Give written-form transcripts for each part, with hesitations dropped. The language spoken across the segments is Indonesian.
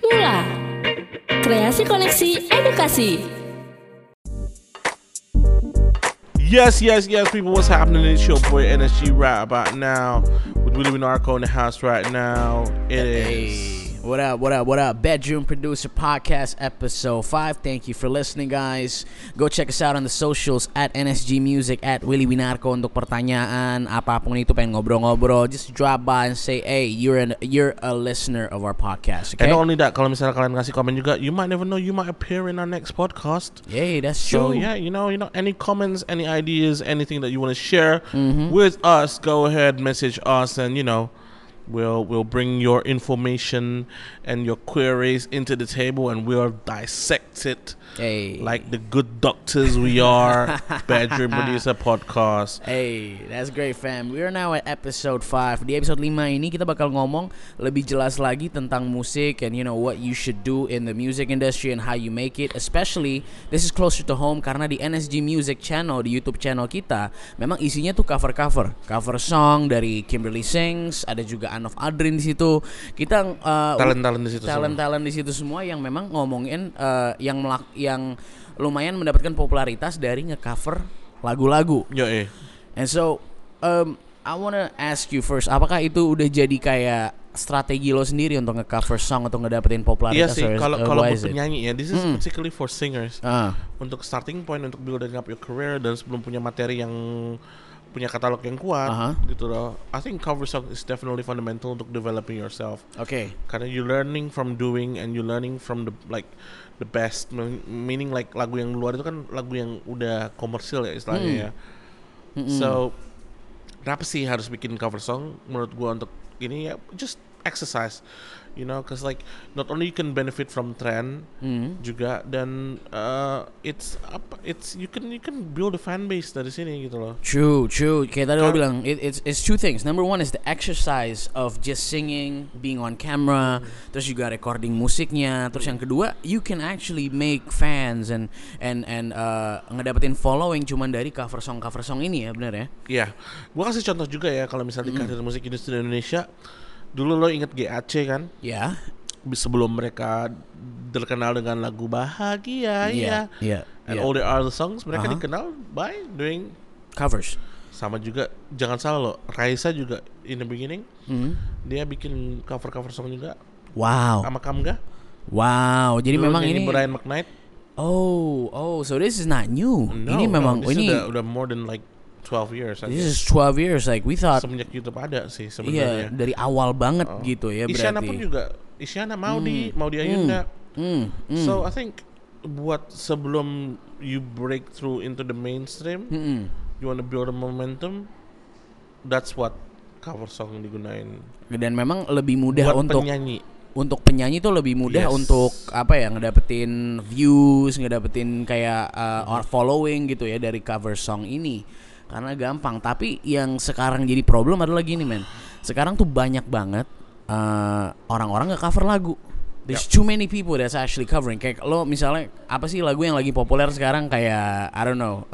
Mula, kreasi koneksi edukasi. Yes, people, what's happening? It's your boy NSG right about now with Willie Narco in the house right now. It is. What up? Bedroom Producer Podcast Episode 5. Thank you for listening, guys. Go check us out on the socials at NSG Music, at Willie Winarco untuk pertanyaan apapun itu, pengen ngobrol-ngobrol, just drop by and say, hey, you're a listener of our podcast, okay? And not only that, kalau misalnya kalian ngasih komen juga, you might never know, you might appear in our next podcast. Yeah, that's So true. yeah, you know, any comments, any ideas, anything that you want to share with us, go ahead, message us, and we'll bring your information and your queries into the table, and we'll dissect it like the good doctors we are. Bedroom Producer Podcast. Hey, that's great, fam. We are now at episode 5. Di episode 5 ini kita bakal ngomong lebih jelas lagi tentang musik and what you should do in the music industry and how you make it. Especially, this is closer to home karena di NSG Music channel, di YouTube channel kita, memang isinya tuh cover song dari Kimberly Sings, ada juga Anof Adrin di situ. Kita Talent di situ talent di situ semua yang memang ngomongin yang lumayan mendapatkan popularitas dari nge-cover lagu-lagu. And so I wanna ask you first, apakah itu udah jadi kayak strategi lo sendiri untuk nge-cover song atau ngedapetin popularitas? Iya sih, kalau buat penyanyi ya, this is particularly for singers. Untuk starting point, untuk building up your career, dan sebelum punya materi yang punya katalog yang kuat, gitu loh. I think cover song is definitely fundamental untuk developing yourself. Okay. Karena you learning from doing and you learning from the best, meaning like lagu yang luar itu kan lagu yang udah komersil ya istilahnya ya. So kenapa sih harus bikin cover song? Menurut gua untuk ini ya just exercise, cause like not only you can benefit from trend juga, dan it's you can build a fan base dari sini gitu loh. True. Kayak tadi lo bilang, it's two things. Number one is the exercise of just singing, being on camera, terus juga recording musiknya. Terus yang kedua, you can actually make fans and ngedapetin following cuman dari cover song ini ya, benar ya? Iya, gua kasih contoh juga ya, kalau misalnya di karir musik industri Indonesia. Dulu lo inget GAC kan? Ya. Sebelum mereka terkenal dengan lagu Bahagia, and all the other songs, mereka dikenal by doing covers. Sama juga, jangan salah lo, Raisa juga in the beginning, dia bikin cover song juga. Wow. Sama Kamga. Wow. Jadi dulu memang ini Brian McKnight. Oh, so this is not new. No, ini memang ini udah more than like 12 years. This is 12 years, like we thought. Semenjak YouTube ada sih sebenarnya. Iya, dari awal banget gitu ya berarti. Isyana pun juga, Isyana Maudi Ayunda. So I think buat sebelum you break through into the mainstream, you wanna build a momentum, that's what cover song digunain. Dan memang lebih mudah buat untuk penyanyi. Untuk penyanyi tuh lebih mudah untuk ngedapetin views, ngedapetin kayak following gitu ya dari cover song ini. Karena gampang. Tapi yang sekarang jadi problem adalah gini, men. Sekarang tuh banyak banget orang-orang nge-cover lagu. There's too many people that's actually covering. Kayak lo misalnya apa sih lagu yang lagi populer sekarang, kayak I don't know,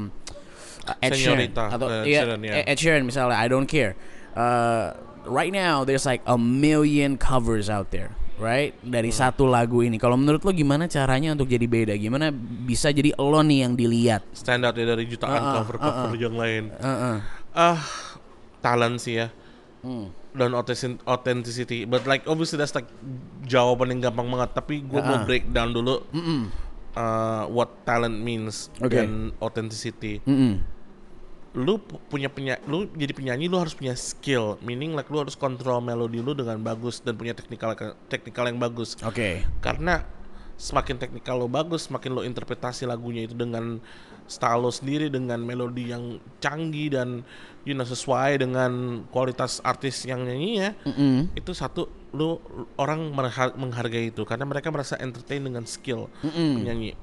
Ed Sheeran atau Ed Sheeran misalnya, I Don't Care. Right now there's like 1 million covers out there, right? Dari satu lagu ini. Kalau menurut lo gimana caranya untuk jadi beda? Gimana bisa jadi lo nih yang dilihat? Stand out ya dari jutaan cover yang lain. Talent sih ya. Dan authenticity. But like obviously that's like jawaban yang gampang banget. Tapi gue mau breakdown dulu what talent means dan authenticity. Lu jadi penyanyi, lu harus punya skill, meaning like lu harus kontrol melodi lu dengan bagus dan punya teknikal yang bagus. Karena semakin teknikal lo bagus, semakin lo interpretasi lagunya itu dengan style lo sendiri, dengan melodi yang canggih dan sesuai dengan kualitas artis yang nyanyinya. Itu satu, lo orang menghargai itu karena mereka merasa entertain dengan skill penyanyi.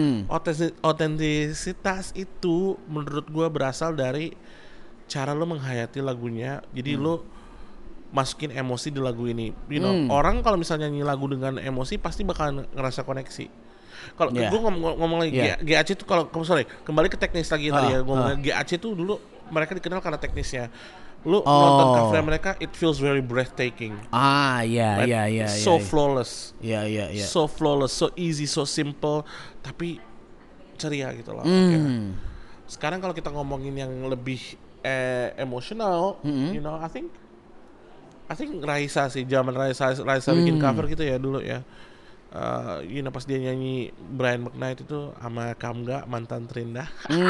Otentisitas itu menurut gue berasal dari cara lo menghayati lagunya. Jadi lo masukin emosi di lagu ini. Orang kalau misalnya nyanyi lagu dengan emosi pasti bakal ngerasa koneksi. Kalau gue ngomong lagi GAC itu, kalau kembali ke teknis lagi tadi ya, ngomongnya GAC itu dulu mereka dikenal karena teknisnya. Lu nonton cover mereka, it feels very breathtaking. Iya, Right? iya, iya. So flawless. Iya, iya, iya. So flawless, so easy, so simple, tapi ceria gitu loh. Ya. Sekarang kalau kita ngomongin yang lebih emosional, you know, I think Raisa sih, zaman Raisa bikin cover gitu ya dulu ya. You know, pas dia nyanyi Brian McKnight itu sama Kamga, mantan terindah.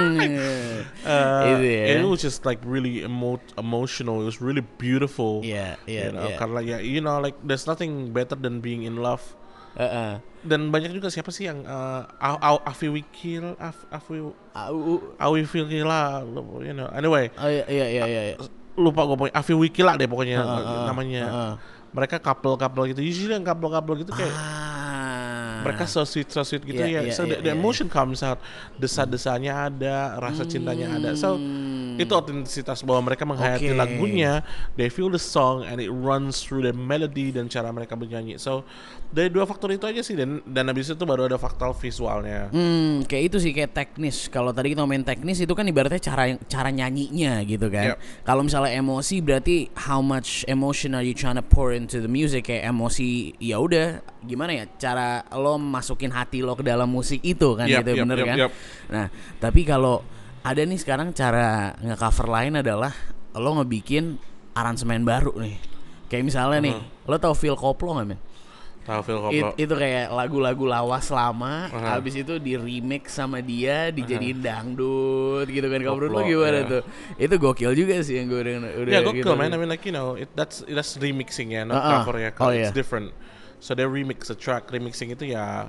It was just like really emotional. It was really beautiful. Yeah, you know, karena ya, you know, like there's nothing better than being in love. Dan banyak juga siapa sih yang Afi Wikil, Awi Wikila, you know. Anyway. Iya. Lupa gue pokoknya Afi Wikila deh pokoknya namanya. Mereka couple gitu. Usually yang couple gitu kayak mereka so sweet gitu ya. So the emotion comes out, desa-desanya ada, rasa cintanya ada. So itu otentisitas bahwa mereka menghayati lagunya, they feel the song and it runs through the melody dan cara mereka bernyanyi. So dari dua faktor itu aja sih, dan habis itu baru ada faktor visualnya. Kayak itu sih, kayak teknis. Kalau tadi kita ngomongin teknis itu kan ibaratnya cara nyanyinya gitu kan. Kalau misalnya emosi berarti how much emotion are you trying to pour into the music. Kayak emosi ya udah gimana ya cara lo masukin hati lo ke dalam musik itu kan, gitu bener kan. Nah tapi kalau ada nih sekarang cara nge-cover lain adalah lo ngebikin aransemen baru nih. Kayak misalnya nih, lo tau Phil Koplo gak men? Tahu Phil Koplo. Itu kayak lagu-lagu lawas lama, habis itu di remix sama dia, dijadiin dangdut gitu kan. Kalau menurut lo gimana tuh? Itu gokil juga sih yang gue udah gokil gitu, man. I mean like, you know, that's remixing ya, not cover ya. It's different. So they remix a track. Remixing itu ya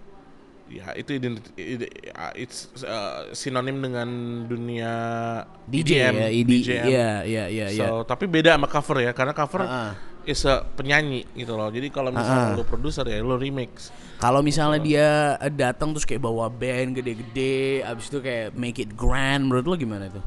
itu it's sinonim dengan dunia DJ EDM, ya, DJM. Iya. So tapi beda sama cover ya, karena cover is a penyanyi gitu loh. Jadi kalau misalnya lu produser ya lu remix. Kalau misalnya dia datang terus kayak bawa band gede-gede, abis itu kayak make it grand, menurut lo gimana tuh?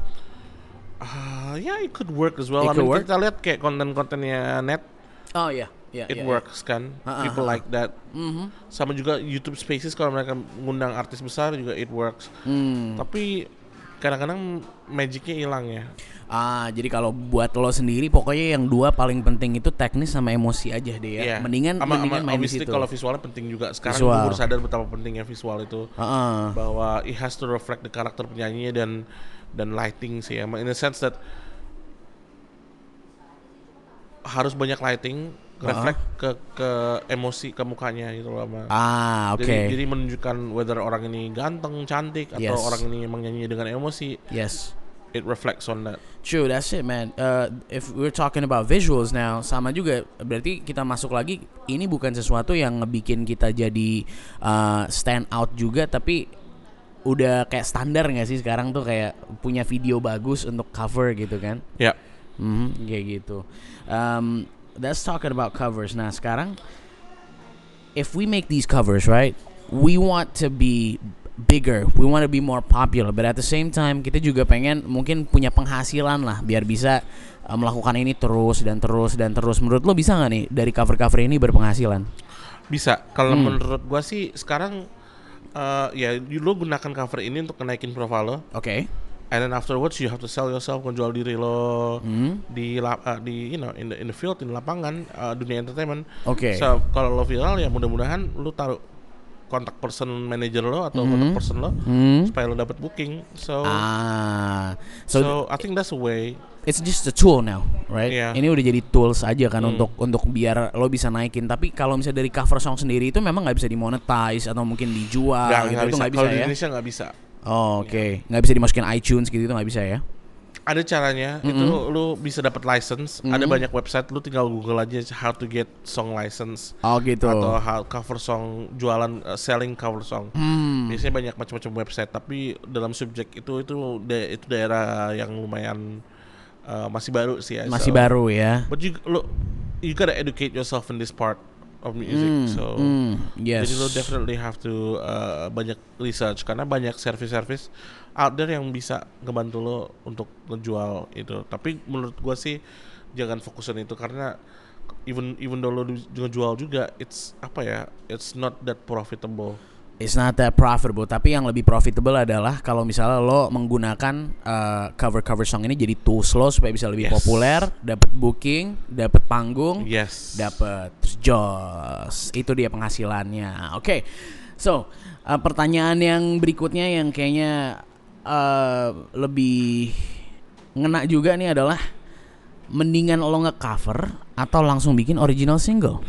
It could work as well. Kita lihat kayak konten-kontennya Net. Oh iya. It works kan. People like that. Sama juga YouTube Spaces kalau mereka ngundang artis besar juga it works. Tapi kadang-kadang magicnya hilang ya. Jadi kalau buat lo sendiri pokoknya yang dua paling penting itu teknis sama emosi aja deh ya. Mendingan main di situ. Kalau visualnya penting juga. Sekarang gue baru sadar betapa pentingnya visual itu. Bahwa it has to reflect the karakter penyanyinya dan lighting sih ya. In a sense that harus banyak lighting, reflect ke emosi ke mukanya gitu loh. Jadi menunjukkan whether orang ini ganteng, cantik, atau orang ini emang nyanyi dengan emosi. It reflects on that. True, that's it, man. If we're talking about visuals now, sama juga berarti kita masuk lagi. Ini bukan sesuatu yang ngebikin kita jadi stand out juga, tapi udah kayak standar nggak sih sekarang tuh kayak punya video bagus untuk cover gitu kan? Kayak gitu. Let's talking about covers. Nah sekarang, if we make these covers, right, we want to be bigger, we want to be more popular, but at the same time kita juga pengen mungkin punya penghasilan lah biar bisa melakukan ini terus. Menurut lo bisa nggak nih dari cover ini berpenghasilan? Bisa. Kalau menurut gua sih sekarang lo gunakan cover ini untuk naikin profile lo. And then afterwards you have to sell yourself, menjual diri lo di you know in the field, in lapangan dunia entertainment. So kalau lo viral ya mudah-mudahan lo taruh kontak person manager lo atau kontak person lo supaya lo dapat booking. So I think that's a way. It's just a tool now, right? Ini udah jadi tools aja kan untuk biar lo bisa naikin. Tapi kalau misalnya dari cover song sendiri itu memang nggak bisa dimonetize atau mungkin dijual gitu, itu nggak bisa kalau ya? Di Indonesia nggak bisa. Nggak bisa dimasukin iTunes gitu, itu nggak bisa ya? Ada caranya, itu lu bisa dapat license. Ada banyak website, lu tinggal Google aja how to get song license. Gitu. Atau how cover song, jualan selling cover song. Biasanya banyak macam-macam website, tapi dalam subjek itu daerah yang lumayan masih baru sih ya. Masih baru ya. But you gotta educate yourself in this part of music. Jadi lo definitely have to banyak research, karena banyak service out there yang bisa ngebantu lo untuk ngejual itu. Tapi menurut gua sih jangan fokusin itu, karena even though lo ngejual juga, it's not that profitable. It's not that profitable, tapi yang lebih profitable adalah kalau misalnya lo menggunakan cover song ini jadi tools lo supaya bisa lebih populer, dapat booking, dapat panggung, dapat jos. Itu dia penghasilannya. Oke. So, pertanyaan yang berikutnya yang kayaknya lebih ngena juga nih adalah mendingan lo nge-cover atau langsung bikin original single?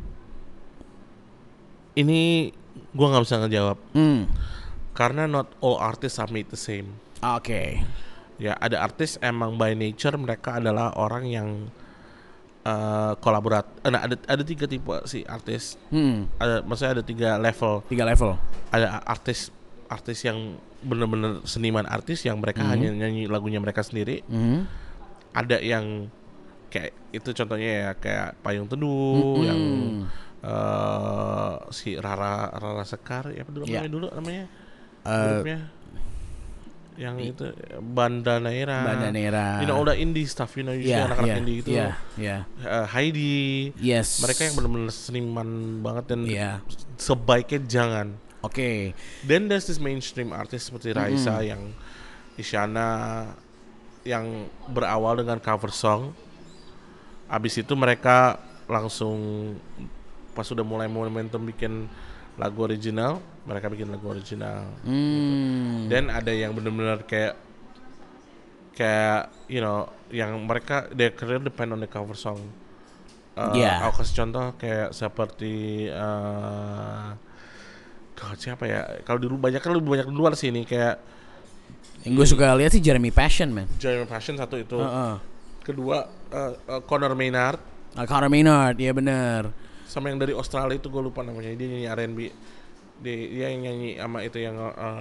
Ini gue nggak bisa ngejawab karena not all artists are made the same. Oke. Ya ada artis emang by nature mereka adalah orang yang kolaborat. Nah ada 3 tipe si artis. Maksudnya ada 3 level. 3 level. Ada artis yang benar-benar seniman artis yang mereka hanya nyanyi lagunya mereka sendiri. Ada yang kayak itu contohnya ya kayak Payung Teduh yang si Rara Sekar ya dulu namanya grupnya yang itu Banda Neira, you know all the indie stuff, you know anak-anak indie itu, Heidi, mereka yang benar-benar seniman banget dan sebaiknya jangan. Then there's this mainstream artist seperti Raisa yang Isyana yang berawal dengan cover song, abis itu mereka langsung pas sudah mulai momentum bikin lagu original, mereka bikin lagu original. Dan ada yang benar-benar kayak you know yang mereka their career depend on the cover song. Aku kasih contoh kayak seperti siapa ya? Kalau dulu banyak di luar sini kayak yang gue suka lihat sih Jeremy Passion, man. Jeremy Passion satu itu. Kedua Conor Maynard. Conor Maynard, iya benar. Sama yang dari Australia itu gue lupa namanya, dia nyanyi R&B, dia yang nyanyi sama itu yang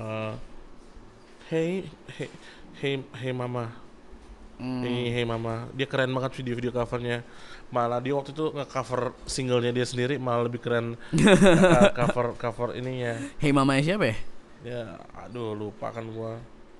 Hey Mama, Hey Mama, dia keren banget video covernya. Malah dia waktu itu nge-cover singlenya dia sendiri malah lebih keren cover ininya. Hey Mama siapa ya? Ya aduh lupa kan gue.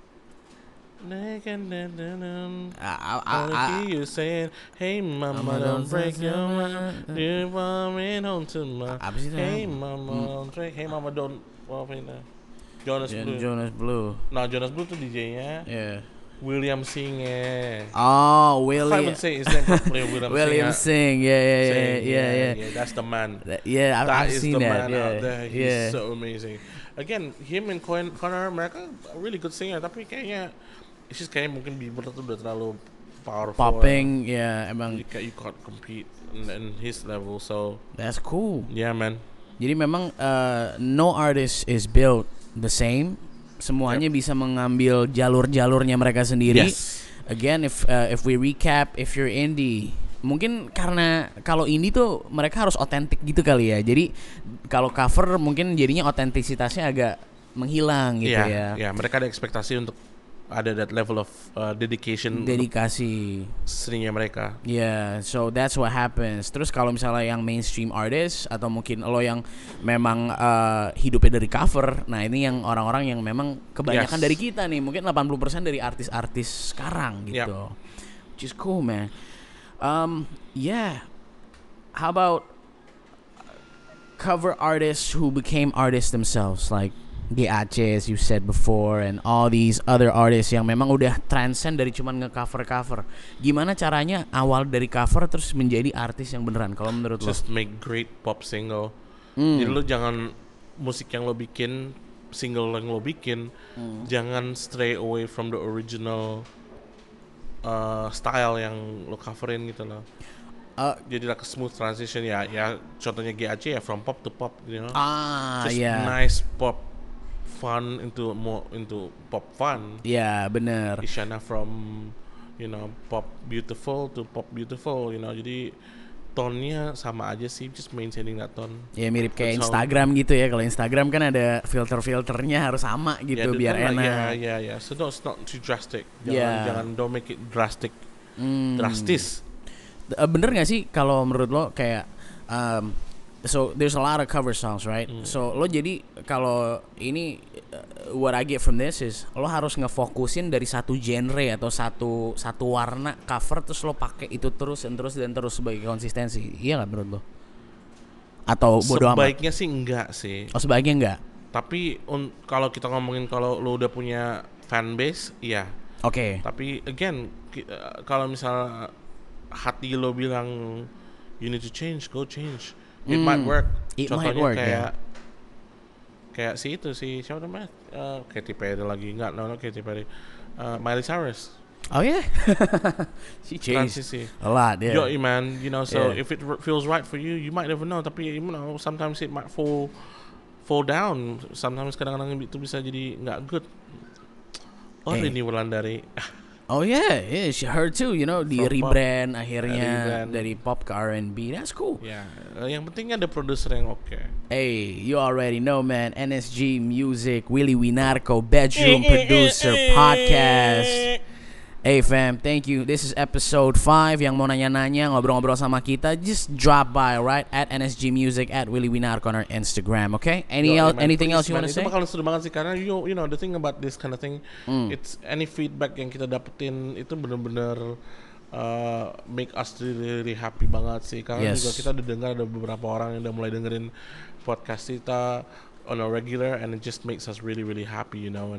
You saying, hey mama don't break your mind, you want me home to my. Hey mama don't break, hey mama don't. Apa ini? Jonas Blue. Nah Jonas Blue tuh DJ-nya. William Singh ya. Oh William. I would say his name properly William Singh. Yeah. That's the man. I've seen that. That is the man out there. He's so amazing. Again, him and Conor mereka really good singer, tapi kayaknya it's just kayak mungkin Bieber tuh udah terlalu powerful. Popping, emang. You can't compete in his level, so. That's cool. Yeah, man. Jadi memang no artist is built the same. Semuanya bisa mengambil jalur-jalurnya mereka sendiri. Again, if we recap, if you're indie, mungkin karena kalau indie tuh mereka harus otentik gitu kali ya. Jadi kalau cover mungkin jadinya otentisitasnya agak menghilang gitu ya. Ya, mereka ada ekspektasi untuk ada that level of dedikasi seninya mereka. So that's what happens. Terus kalau misalnya yang mainstream artist atau mungkin lo yang memang hidupnya dari cover, nah ini yang orang-orang yang memang kebanyakan dari kita nih, mungkin 80% dari artis-artis sekarang gitu. Which is cool, man. How about cover artists who became artists themselves, like GAC as you said before, and all these other artists yang memang udah transcend dari cuman nge-cover. Gimana caranya awal dari cover terus menjadi artis yang beneran kalau menurut lo? Just make great pop single. Jadi lo jangan musik yang lo bikin, single yang lo bikin, jangan stray away from the original style yang lo coverin gitu loh. Jadi like a smooth transition ya contohnya GAC ya from pop to pop, you know. Just nice pop fun into pop fun. Bener. Isyana from pop beautiful to pop beautiful, jadi tone-nya sama aja sih, just maintaining that tone. Mirip kayak Instagram gitu ya. Kalau Instagram kan ada filter-filternya harus sama gitu biar enak. So it's not too drastic. Jangan don't make it drastic. Drastis. Bener gak sih kalau menurut lo kayak so there's a lot of cover songs, right? So lo jadi kalau ini what I get from this is lo harus ngefokusin dari satu genre atau satu warna cover, terus lo pakai itu terus sebagai konsistensi. Iya nggak menurut lo? Atau bodo amat? Sebaiknya sih enggak sih. Sebaiknya enggak. Tapi kalau kita ngomongin kalau lu udah punya fan base, iya. Oke. Tapi again, kalau misal hati lo bilang you need to change, go change. It might work. Contohnya kayak si siapa namanya? Katy Perry lagi. Enggak, no Katy Perry. Miley Cyrus. Oh yeah. She changed a lot, yeah. Yo, man, you know, so if it feels right for you, you might never know. Tapi you know, sometimes it might fall down. Sometimes kadang-kadang itu bisa jadi nggak good. Ini Wulandari. Oh yeah, she heard too, you know, di rebrand akhirnya dari pop ke R&B. That's cool. Yeah, yang penting ada produser yang oke. Hey, you already know, man. NSG Music, Willy Winarko, Bedroom Producer Podcast. Hey fam, thank you. This is episode 5. Yang mau nanya-nanya, ngobrol-ngobrol sama kita, just drop by, right? At NSG Music, at Willy Winarko on our Instagram, okay? Anything else you want to say? Itu bakal seru banget sih, karena you know, the thing about this kind of thing, it's any feedback yang kita dapetin, itu bener-bener make us really happy banget sih. Karena juga kita udah dengar ada beberapa orang yang udah mulai dengerin podcast kita on a regular, and it just makes us really happy, you know,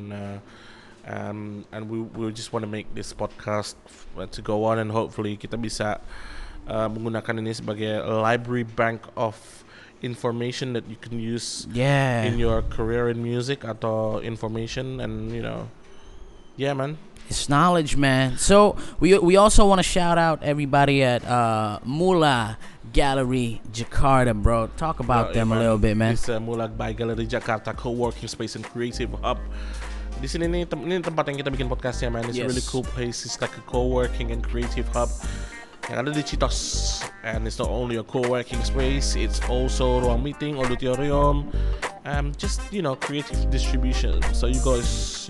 and we just want to make this podcast to go on, and hopefully kita bisa menggunakan ini sebagai library bank of information that you can use in your career in music atau information, and you know, man. It's knowledge, man. So we also want to shout out everybody at Mula Gallery Jakarta, bro. Talk about them a little bit, man. It's Mula by Gallery Jakarta, co-working space and creative hub. Di sini ini tempat yang kita bikin podcastnya, man. It's a really cool place. It's like a co-working and creative hub yang ada di Citos. And it's not only a co-working space, it's also ruang meeting, auditorium, just you know, creative distribution. So you guys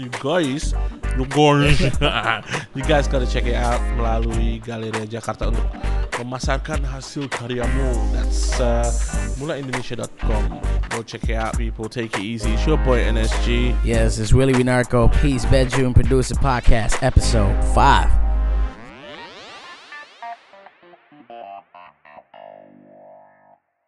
gotta check it out melalui Galeri Jakarta untuk memasarkan hasil karyamu. That's mulaindonesia.com. Go check it out, people. Take it easy. It's your boy NSG. Yes, it's Willy Winarko. Peace, Bedroom Producer Podcast, episode 5.